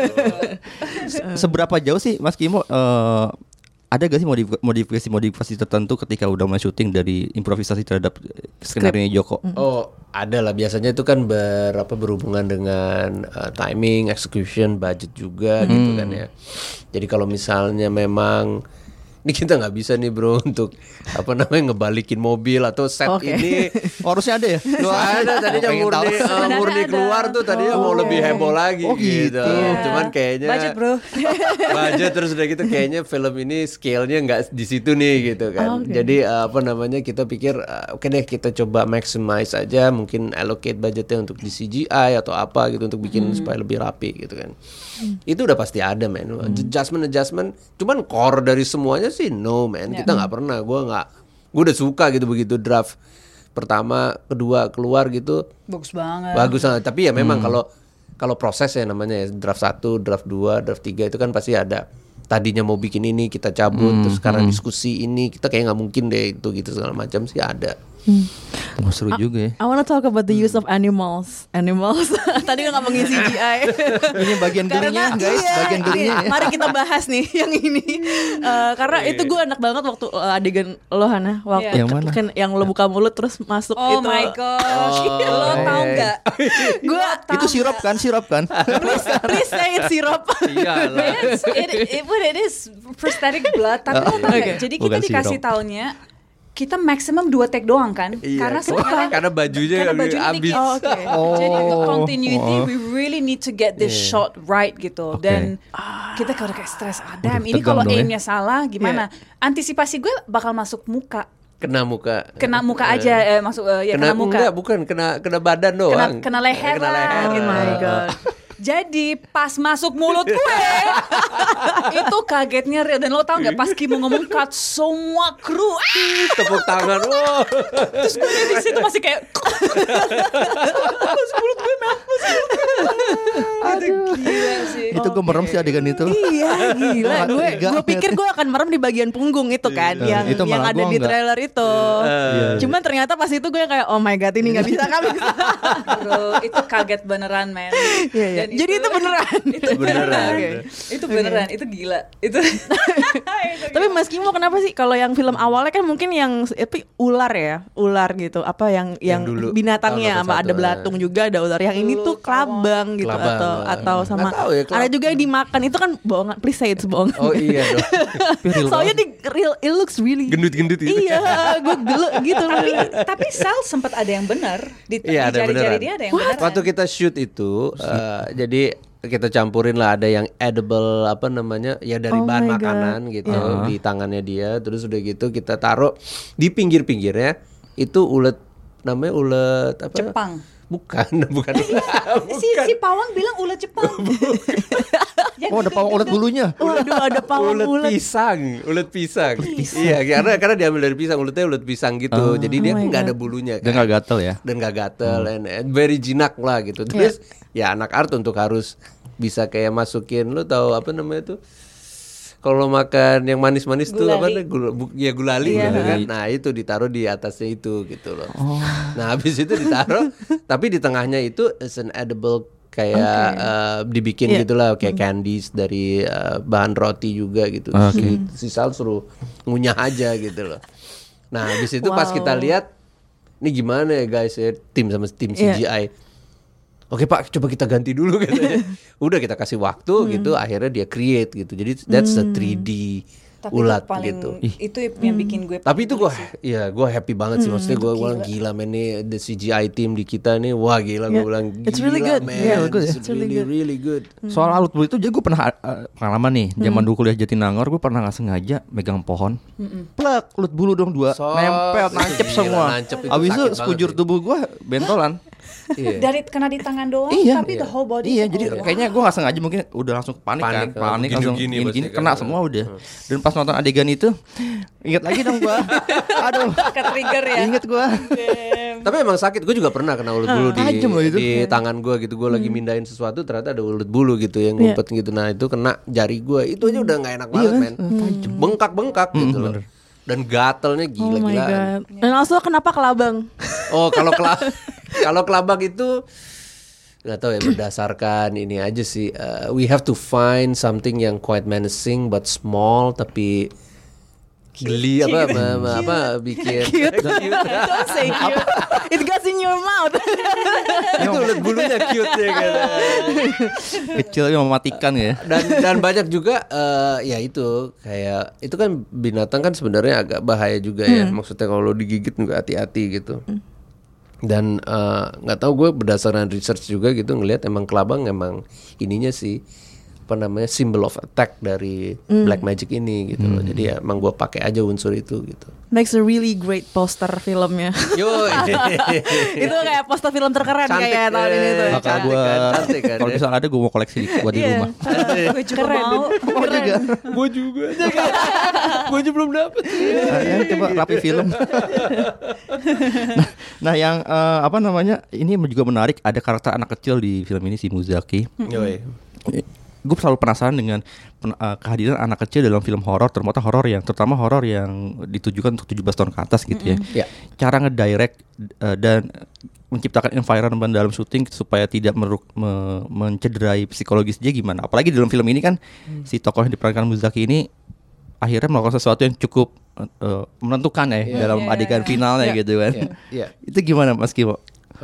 Seberapa jauh sih Mas Kimo? Uh, ada gak sih modifikasi-modifikasi tertentu ketika udah mulai syuting dari improvisasi terhadap skenario Joko? Oh, ada lah. Biasanya itu kan ber, apa, berhubungan dengan uh, timing, execution, budget juga hmm. gitu kan ya. Jadi kalau misalnya memang ini kita nggak bisa nih bro untuk apa namanya ngebalikin mobil atau set okay. ini oh, harusnya ada ya? ada tadinya murni uh, murni keluar tuh tadinya oh, mau okay. lebih heboh lagi oh, gitu. gitu. Yeah. Cuman kayaknya budget bro. budget terus udah gitu kayaknya film ini scale-nya nggak di situ nih gitu kan. Okay. Jadi uh, apa namanya kita pikir uh, oke okay deh kita coba maximize aja mungkin allocate budgetnya untuk di C G I atau apa gitu untuk bikin hmm. supaya lebih rapi gitu kan. Hmm. Itu udah pasti ada men. Hmm. Adjustment adjustment. Cuman core dari semuanya sih no man, yeah. kita nggak pernah, gue nggak, gue udah suka gitu begitu draft pertama, kedua keluar gitu, bagus banget, bagus banget. Tapi ya memang hmm. kalau kalau proses ya namanya ya, draft satu, draft dua, draft tiga itu kan pasti ada. Tadinya mau bikin ini kita cabut, hmm. terus sekarang hmm. diskusi ini kita kayak nggak mungkin deh itu gitu segala macam sih ada. Hmm. Oh, seru I, juga ya. I wanna talk about the use of animals. Animals. Tadi kan ngomongin C G I. Ini bagian gelinya guys, iya, bagian gelinya. Iya. Mari kita bahas nih yang ini. Uh, karena yeah. itu gue enak banget waktu uh, adegan lo Hana, waktu yeah. yang mana? Kan yang lo buka mulut terus masuk oh itu. Oh my gosh. Oh, lo tau nggak? Gue itu sirup kan, sirup kan? please, please say it's sirup. Iyalah. Yes, it, it, but it is prosthetic blood. Tapi lo tau nggak? Jadi kita Bukan dikasih sirup. taunya kita maksimum dua take doang kan? Iya, karena sebenarnya karena bajunya karena bajunya habis. Oh, okay. oh. Jadi untuk continuity oh. we really need to get this yeah. shot right gitu. Okay. Dan ah, kita kalau kayak stress, ah, damn, ini kalau aimnya ya? salah gimana? Yeah. Antisipasi gue bakal masuk muka. Kena muka. Kena muka aja eh, masuk uh, ya kena, kena muka. Enggak, bukan kena kena badan doang. Kena, kena leher. Kena leher. Oh my god. Jadi pas masuk mulut gue itu kagetnya real. Dan lo tau gak pas Kimo ngomong cut semua kru ah! tepuk tangan wow. Terus gue di situ masih kayak masuk mulut gue mampus. Itu gila sih. Itu gue merem sih adegan itu. Iya gila. Gue gue pikir gue akan merem di bagian punggung itu kan yang itu yang ada di trailer itu. Uh, Cuman ternyata pas itu gue kayak oh my god ini nggak bisa kami. Bro itu kaget beneran men. Iya, iya. Dan jadi itu, itu beneran. Itu beneran. Okay. Itu beneran. Okay. Itu gila. Itu. Tapi Mas Kimo kenapa sih kalau yang film awalnya kan mungkin yang tapi ular ya, ular gitu. Apa yang yang, yang binatangnya sama ada belatung juga ada ular. Yang ini tuh kelabang gitu kelabang, atau ya. atau sama ya, ada juga yang dimakan itu kan bohongan. Please say it's bohongan. Oh iya dong. Soalnya di real it looks really gendut-gendut gitu. Iya, gue dulu gitu. Tapi tapi Sal sempat ada yang benar di, iya, di jari-jari dia ada yang benar. Waktu kita shoot itu uh, jadi kita campurin lah ada yang edible apa namanya ya dari oh bahan makanan God. gitu yeah. di tangannya dia terus udah gitu kita taruh di pinggir-pinggirnya itu ulet namanya ulet apa Jepang Bukan, bukan. Si si pawang bilang ulet Jepang. Yang Oh, ada pawang ulet bulunya. Waduh, ada pawang ulet ulet. pisang, ulet pisang. Iya, karena karena diambil dari pisang, uletnya ulet pisang gitu. Jadi dia Oh my nggak ada God. bulunya Dan kan. nggak gatel ya. Dan nggak gatel, and, and very jinak lah gitu. Terus ya anak art untuk harus bisa kayak masukin, lu tahu apa namanya tuh? Kalau makan yang manis-manis tuh apa Gulali. nih? Gula, bu- ya gulali Iya. gitu kan. Nah, itu ditaruh di atasnya itu gitu loh. Nah, habis itu ditaruh tapi di tengahnya itu is an edible kayak eh, dibikin Iya. gitulah kayak candies dari eh, bahan roti juga gitu. Si, si Sal suruh ngunyah aja gitu loh. Nah, habis itu pas Wow. kita lihat ini gimana ya guys ya, tim sama tim C G I. Oke Pak, coba kita ganti dulu katanya. Udah kita kasih waktu gitu, akhirnya dia create gitu. Jadi that's a three D Tapi ulat itu paling gitu. itu yang bikin gue. Tapi itu gue, ya gue happy banget sih. Maksudnya gue bilang gila men nih the C G I team di kita nih, wah gila gue Yeah. bilang gila It's really good. man, Yeah, good ya. it's really really good. Soal alut bulu itu jadi gue pernah uh, pengalaman nih. Zaman dulu kuliah Jatinangor gue pernah nggak sengaja megang pohon. Plek, ulut bulu dong dua. So, nempel, nancep gila, semua. nancep itu Abis itu sakit sekujur banget sih. tubuh gue bentolan. Iya. Dari kena di tangan doang, Iya. tapi the whole body. Iya, tuh, jadi oh, wow. kayaknya gue gak sengaja mungkin udah langsung panik, Panik, kan, panik gini-gini langsung pasti gini-gini kan. kena semua udah. Dan pas nonton adegan itu, inget lagi dong gue. Aduh, Ke-trigger ya. inget gue. Tapi emang sakit, gue juga pernah kena ulet bulu di, Tajam loh itu. di tangan gue gitu. Gue lagi mindahin sesuatu, ternyata ada ulet bulu gitu yang Iya. ngumpet gitu. Nah itu kena jari gue, itu aja udah nggak enak banget men. Bengkak-bengkak gitu loh. Dan gatelnya Oh my gila-gilaan. god. Dan also kenapa kelabang? Oh kalau kela kalau kelabang itu nggak tahu ya, berdasarkan ini aja sih. Uh, we have to find something yang quite menacing but small tapi geli apa apa, apa, apa bikin Cute. Don't say cute. It goes in your mouth. itu ulet bulunya cute ya kan. Kecil tapi mematikan ya. dan dan banyak juga eh, ya itu kayak itu kan binatang kan sebenarnya agak bahaya juga ya, maksudnya kalau digigit juga hati-hati gitu. Dan eh, nggak tahu gue berdasarkan research juga gitu ngelihat emang kelabang emang ininya sih apa namanya symbol of attack dari black magic ini gitu loh. Jadi ya emang gue pakai aja unsur itu gitu. Makes a really great poster filmnya. Yo, Itu kayak poster film terkeren Cantik, kayak tahun ini tuh. eh, Bakal cantik gue, kan, cantik kan, kalau ya. misalnya ada gue mau koleksi di, buat di Iya. rumah. Gue juga mau. Oh juga. Gue juga, gue juga belum dapet. Nah, ya, coba rapi film. nah, nah yang eh, apa namanya ini juga menarik, ada karakter anak kecil di film ini si Muzaki. Yoi. Gue selalu penasaran dengan pen- uh, kehadiran anak kecil dalam film horor, terutama horor yang terutama horor yang ditujukan untuk tujuh belas tahun ke atas gitu ya. Ya. Cara ngedirect uh, dan menciptakan environment dalam syuting supaya tidak meruk, me, mencederai psikologis dia gimana. Apalagi dalam film ini kan si tokoh yang diperankan Muzaki ini akhirnya melakukan sesuatu yang cukup uh, menentukan ya Iya. dalam Iya, adegan iya. finalnya Iya. gitu kan. Iya, iya. Itu gimana Mas Kimo?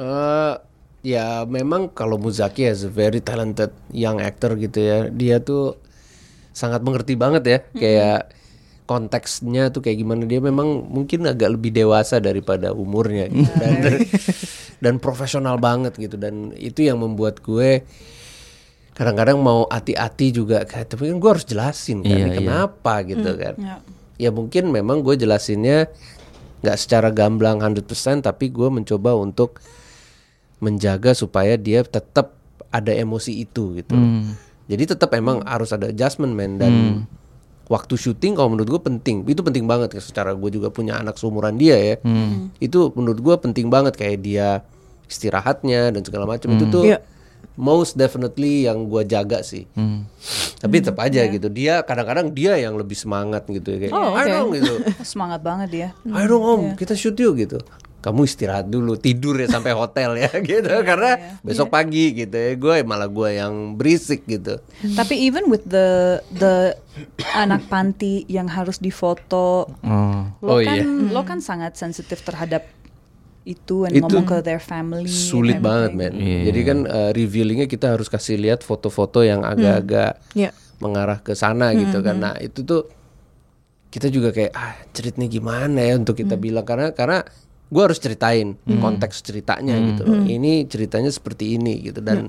Eh, ya memang kalau Muzaki as a very talented young actor gitu ya, dia tuh sangat mengerti banget ya, kayak konteksnya tuh kayak gimana. Dia memang mungkin agak lebih dewasa daripada umurnya gitu. dan dan profesional banget gitu, dan itu yang membuat gue kadang-kadang mau hati-hati juga kayak, tapi kan gue harus jelasin kan Iya, ini iya. kenapa gitu kan. Ya. Ya mungkin memang gue jelasinnya nggak secara gamblang seratus persen, tapi gue mencoba untuk menjaga supaya dia tetap ada emosi itu gitu. Hmm. Jadi tetap emang harus ada adjustment man, dan waktu syuting kalau menurut gue penting. Itu penting banget ya, secara gue juga punya anak seumuran dia ya. Itu menurut gue penting banget kayak dia istirahatnya dan segala macam itu tuh Iya. most definitely yang gue jaga sih. Tapi tetap aja gitu. Dia kadang-kadang dia yang lebih semangat gitu ya, kayak Oh, ayo oke. dong gitu. Semangat banget dia. Ayo dong om, kita shoot yuk gitu. Kamu istirahat dulu, tidur ya sampai hotel ya gitu. Karena besok pagi gitu ya, gue malah gue yang berisik gitu. Tapi even with the the anak panti yang harus difoto, Oh. lo Oh, kan iya. lo kan sangat sensitif terhadap itu, and Itu ngomong ke their family. and Sulit banget everything. men. Iya. Jadi kan uh, revealingnya kita harus kasih lihat foto-foto yang agak-agak Iya. mengarah ke sana gitu kan. Nah itu tuh kita juga kayak ah ceritanya gimana ya untuk kita bilang, karena karena gue harus ceritain konteks ceritanya gitu loh. Ini ceritanya seperti ini gitu, dan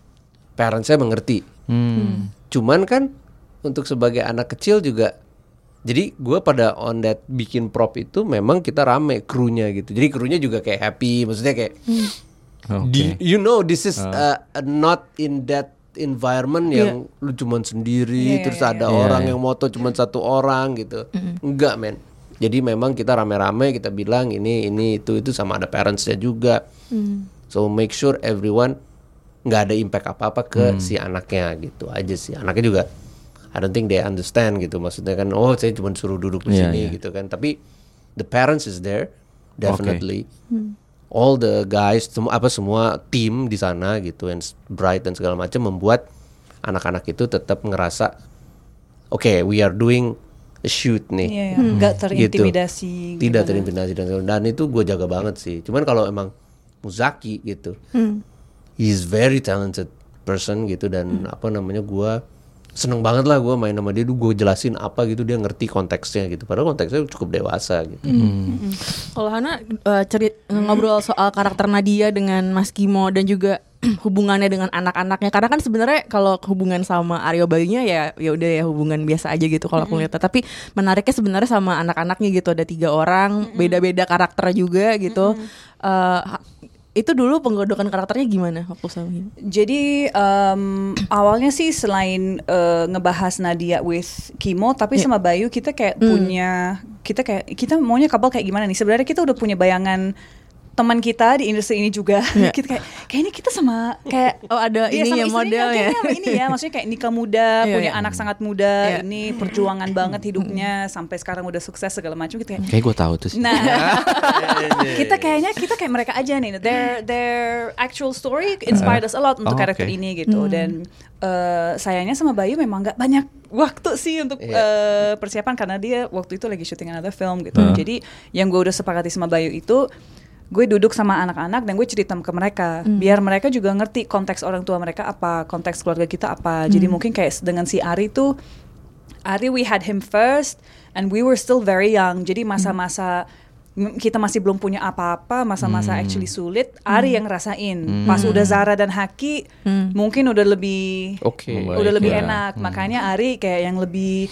parents saya mengerti. Hmm. Cuman kan untuk sebagai anak kecil juga, jadi gue pada on that bikin prop itu memang kita rame krunya gitu. Jadi krunya juga kayak happy, maksudnya kayak Di- Oke. you know this is uh, not in that environment yang lu cuman sendiri Iya, terus iya, ada iya. orang Iya, yang moto cuman satu orang gitu. Enggak, men. Jadi memang kita rame-rame kita bilang ini ini itu itu sama ada parentsnya juga. So make sure everyone nggak ada impact apa-apa ke si anaknya gitu aja sih. Anaknya juga I don't think they understand gitu. Maksudnya kan oh saya cuma suruh duduk di Iya, sini iya. gitu kan. Tapi the parents is there definitely. All the guys semua apa semua tim di sana gitu and Bright dan segala macam membuat anak-anak itu tetap ngerasa oke okay, we are doing a shoot nih. Iya, iya. Nggak terintimidasi. Gitu. Tidak gimana. terintimidasi dan dan itu gue jaga banget sih. Cuman kalau emang Muzaki gitu, he's very talented person gitu dan apa namanya gue seneng banget lah gue main sama dia, tuh gue jelasin apa gitu dia ngerti konteksnya gitu. Padahal konteksnya cukup dewasa gitu. Kalau Hana uh, cerit ngobrol soal karakter Nadia dengan Mas Kimo dan juga hubungannya dengan anak-anaknya, karena kan sebenarnya kalau hubungan sama Aryo Bayunya ya ya udah ya hubungan biasa aja gitu kalau aku lihat. Tapi menariknya sebenarnya sama anak-anaknya gitu, ada tiga orang, beda-beda karakter juga gitu. Uh, itu dulu penggodokan karakternya gimana waktu sama ini? Jadi um, awalnya sih selain uh, ngebahas Nadia with Kimo, tapi sama Bayu kita kayak punya kita kayak kita maunya couple kayak gimana nih? Sebenarnya kita udah punya bayangan teman kita di industri ini juga. Yeah. Kita kayak kayaknya kita sama kayak Oh, ada dia ini sama ya, istrinya model ya. kayaknya sama ini ya, maksudnya kayak nikah muda, Iya, punya iya. anak sangat muda, Iya. ini perjuangan banget hidupnya sampai sekarang udah sukses segala macam kita kayak Kayak gue tahu tuh sih. Nah, kita kayaknya kita kayak mereka aja nih. Their their actual story inspired us a lot untuk oh, karakter oke. ini gitu. Dan eh, sayangnya sama Bayu memang nggak banyak waktu sih untuk Iya. eh, persiapan karena dia waktu itu lagi syuting another film gitu. Hmm. Jadi yang gue udah sepakati sama Bayu itu gue duduk sama anak-anak dan gue cerita ke mereka biar mereka juga ngerti konteks orang tua mereka apa, konteks keluarga kita apa. Jadi mungkin kayak dengan si Ari tuh, Ari we had him first and we were still very young. Jadi masa-masa m- kita masih belum punya apa-apa, masa-masa actually sulit, Ari yang ngerasain. Pas udah Zara dan Haki mungkin udah lebih Oke. Membaik, udah lebih ya. enak. Makanya Ari kayak yang lebih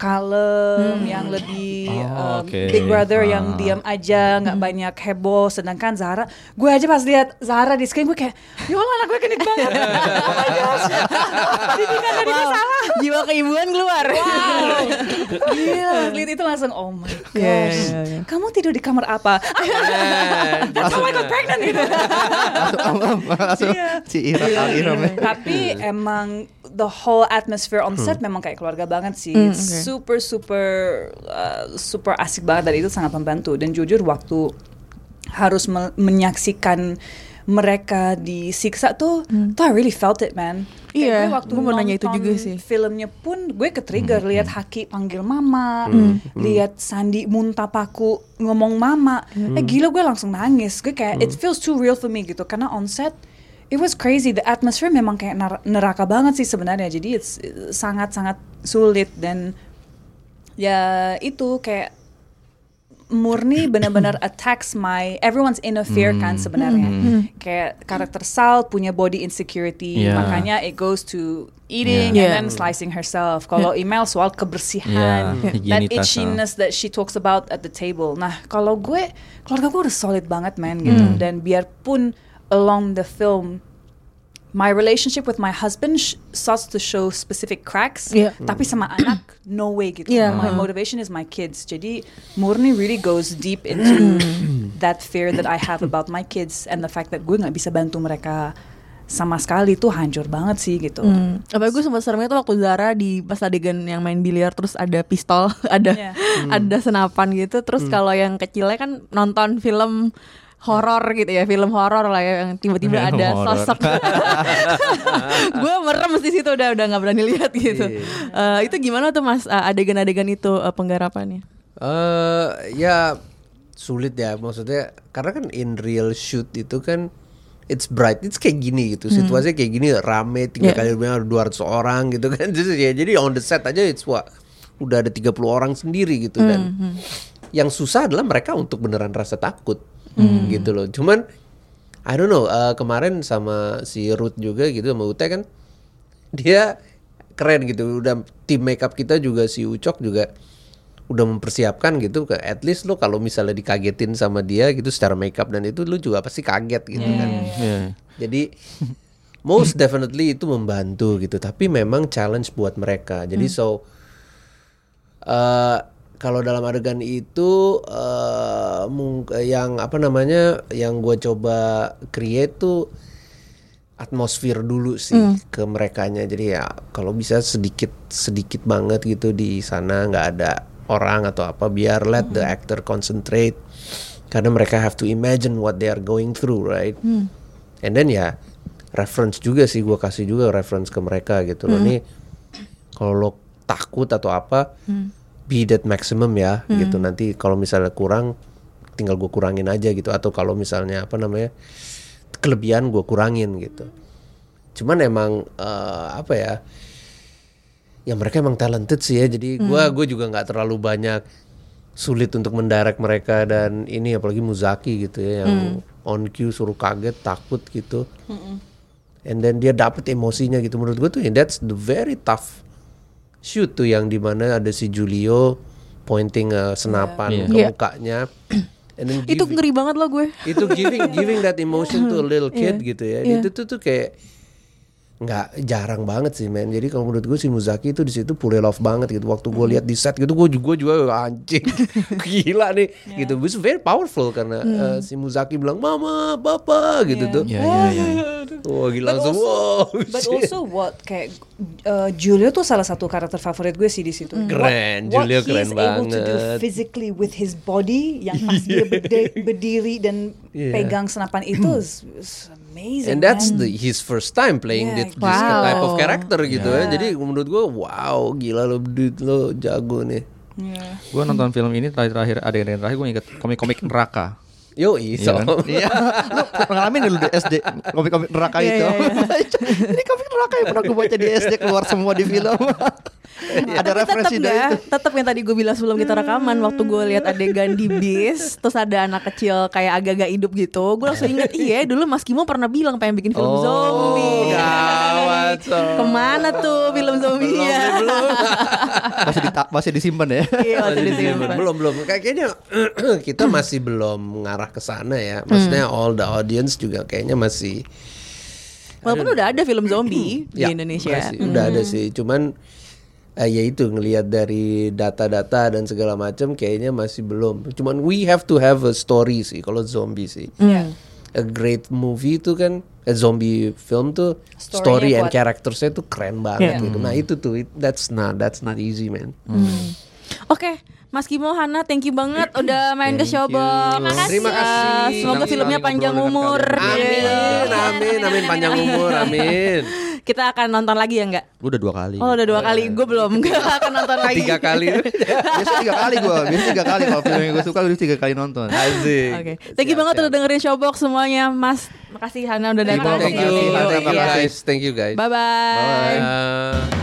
kalem, yang lebih Oh, um, oke. Big Brother Ah. yang diam aja, nggak banyak heboh. Sedangkan Zara, gue aja pas lihat Zara di screen gue kayak, ya Allah anak gue genit banget. Oh my gosh, didikan dari Wow, salah. jiwa keibuan keluar. Wow, gila, lihat itu langsung, oh my gosh, Iya, iya, iya. kamu tidur di kamar apa? That's how I got pregnant gitu. langsung langsung Iya. si Ira kali Ira. Tapi emang the whole atmosphere on set memang kayak keluarga banget sih. Hmm, It's oke. super super uh, super asik banget dan itu sangat membantu. Dan jujur waktu harus me- menyaksikan mereka disiksa tuh, tuh I really felt it, man. Kayak Iya, gue waktu gue mau nanya itu nonton juga sih. filmnya pun gue ke-trigger lihat Haki panggil mama, lihat Sandi muntah paku ngomong mama. Eh gila gue langsung nangis. Gue kayak it feels too real for me gitu karena on set it was crazy. The atmosphere memang kayak nar- neraka banget sih sebenarnya. Jadi it's uh, sangat-sangat sulit dan ya itu kayak murni benar-benar attacks my everyone's inner fear kan sebenarnya. Kayak karakter Sal punya body insecurity, Yeah. makanya it goes to eating Yeah. and then slicing herself. Kalau Email soal kebersihan, Yeah, that higienitas, itchiness that she talks about at the table. Nah, kalau gue keluarga gue udah solid banget man gitu. Dan biarpun along the film my relationship with my husband sh- starts to show specific cracks, Yeah. tapi sama anak no way gitu. Yeah. My motivation is my kids. Jadi murni really goes deep into that fear that I have about my kids and the fact that gue nggak bisa bantu mereka sama sekali tuh hancur banget sih gitu. Hmm. Apalagi gue sempat seremnya tuh waktu Zara di pas adegan yang main biliar terus ada pistol, ada Yeah. ada senapan gitu. Terus kalau yang kecilnya kan nonton film horor gitu ya, film horor lah ya yang tiba-tiba Film ada horor. sosok. Gue merem di situ udah udah nggak berani lihat gitu. Eh, itu gimana tuh Mas eh, adegan-adegan itu eh, penggarapannya? Eh ya sulit ya maksudnya karena kan in real shoot itu kan it's bright, it's kayak gini gitu, situasinya kayak gini rame tiga Yeah. kali ada dua ratus orang gitu kan. Jadi ya jadi on the set aja it's what udah ada tiga puluh orang sendiri gitu dan yang susah adalah mereka untuk beneran rasa takut gitu loh. Cuman I don't know eh, kemarin sama si Ruth juga gitu sama Ute kan dia keren gitu, udah tim makeup kita juga si Ucok juga udah mempersiapkan gitu, ke at least lu kalau misalnya dikagetin sama dia gitu secara makeup dan itu lu juga pasti kaget gitu kan. Iya. Jadi most definitely itu membantu gitu, tapi memang challenge buat mereka. Jadi so uh, kalau dalam adegan itu uh, mung- yang apa namanya yang gue coba create tuh atmosfer dulu sih mm. ke merekanya. Jadi ya kalau bisa sedikit sedikit banget gitu di sana, nggak ada orang atau apa, biar let mm. the actor concentrate karena mereka have to imagine what they are going through, right? Mm. And then ya reference juga sih, gue kasih juga reference ke mereka gitu loh. Mm. Nih kalau lo takut atau apa, mm. be that maximum ya, hmm. gitu. Nanti kalau misalnya kurang, tinggal gue kurangin aja gitu. Atau kalau misalnya apa namanya kelebihan gue kurangin gitu. Cuman emang uh, apa ya? Ya mereka emang talented sih ya. Jadi gue hmm. gue juga nggak terlalu banyak sulit untuk mendirect mereka, dan ini apalagi Muzaki gitu ya, yang hmm. on cue suruh kaget, takut gitu. Hmm. And then dia dapet emosinya gitu. Menurut gue tuh yeah, that's the very tough shoot tuh, yang dimana ada si Julio pointing uh, senapan yeah. ke yeah. mukanya. And then itu giving, ngeri banget loh gue. Itu giving giving that emotion to a little kid yeah. gitu ya. Yeah. Itu tuh tuh kayak nggak jarang banget sih men. Jadi kalau menurut gue si Muzaki itu di situ pull it off banget gitu. Waktu gue lihat di set gitu, gue juga juga anjing gila nih yeah. gitu. It's very powerful karena hmm. uh, si Muzaki bilang mama, papa gitu yeah. tuh. Iya iya iya. Wah gila langsung. Also, wow, but also what kayak uh, Julio tuh salah satu karakter favorit gue sih di situ. Mm. Keren, what, Julio what keren he's banget. able to do physically with his body, yang pas dia berde- berdiri dan yeah. pegang senapan itu is, is amazing. And that's man. the his first time playing Yeah, this, this wow. type of character gitu Yeah. ya. Jadi menurut gue wow gila lo dude, lo jago nih. Yeah. Gue nonton film ini terakhir-terakhir ada yang terakhir gue inget komik-komik neraka. Yo iso. Iya kan? Iya. Lu ngalamin dulu di S D komik-komik neraka Iya, itu. iya, iya. Ini komik neraka yang pernah gue baca di S D keluar semua di film. Ada referensi tetep dari gak, itu. tetep yang tadi gue bilang sebelum kita rekaman, waktu gue lihat adegan di bis, terus ada anak kecil kayak agak-agak hidup gitu, gue langsung inget iya dulu Mas Kimo pernah bilang pengen bikin film Oh, zombie. gawat, so. Kemana tuh film zombie-nya? Belum, belum. Masih di masih disimpan ya. Iya, waktu Masih di disimpan. simpan. belum belum kayaknya kita masih belum ngarah ke sana ya. Maksudnya all the audience juga kayaknya masih. Walaupun udah ada film zombie di Ya, Indonesia. masih, udah ada sih. Cuman eh, ya itu ngelihat dari data-data dan segala macam kayaknya masih belum. Cuman we have to have a story sih kalau zombie sih. Yeah. A great movie itu kan, a zombie film tuh Story-nya story and kuat. charactersnya tuh keren banget Yeah. gitu. Nah itu tuh it- that's not that's not easy man. Oke, Mas Kimo, Hana, thank you banget udah main ke Thank Showbox. you. Terima kasih. Semoga Senang filmnya sekali panjang ngobrol dengan umur. Amin, Yeah. amin, amin panjang umur, amin. Kita akan nonton lagi ya nggak? Gue udah dua kali. Oh udah dua kali, gue belum. Gak akan nonton lagi. Tiga kali. Biasanya tiga kali gue. Biasanya tiga kali kalau film yang gue suka gue tiga kali nonton. Asik. Oke, thank you Siap, banget siap. udah dengerin Showbox semuanya, Mas. Makasih Hana udah datang. Thank you, Terima kasih. thank you Terima kasih. guys, thank you guys. Bye bye. Bye. Bye.